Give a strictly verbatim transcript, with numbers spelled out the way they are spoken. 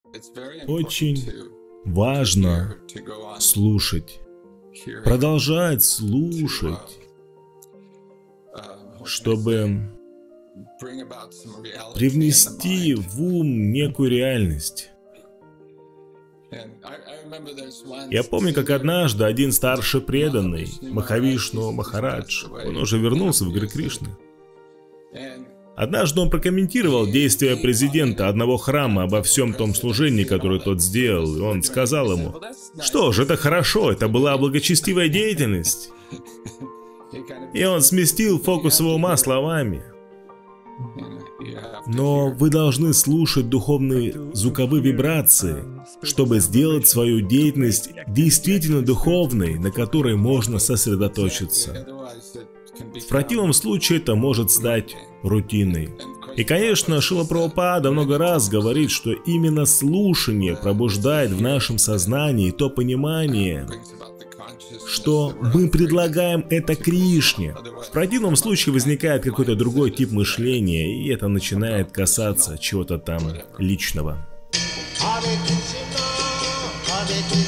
Очень важно слушать, продолжать слушать, чтобы привнести в ум некую реальность. Я помню, как однажды один старший преданный, Махавишну Махарадж, он уже вернулся в Гари Кришны. Однажды он прокомментировал действия президента одного храма обо всем том служении, которое тот сделал, и он сказал ему: «Что ж, это хорошо, это была благочестивая деятельность». И он сместил фокус его ума словами: «Но вы должны слушать духовные звуковые вибрации, чтобы сделать свою деятельность действительно духовной, на которой можно сосредоточиться. В противном случае это может стать рутиной». И, конечно, Шрила Прабхупада много раз говорит, что именно слушание пробуждает в нашем сознании то понимание, что мы предлагаем это Кришне. В противном случае возникает какой-то другой тип мышления, и это начинает касаться чего-то там личного.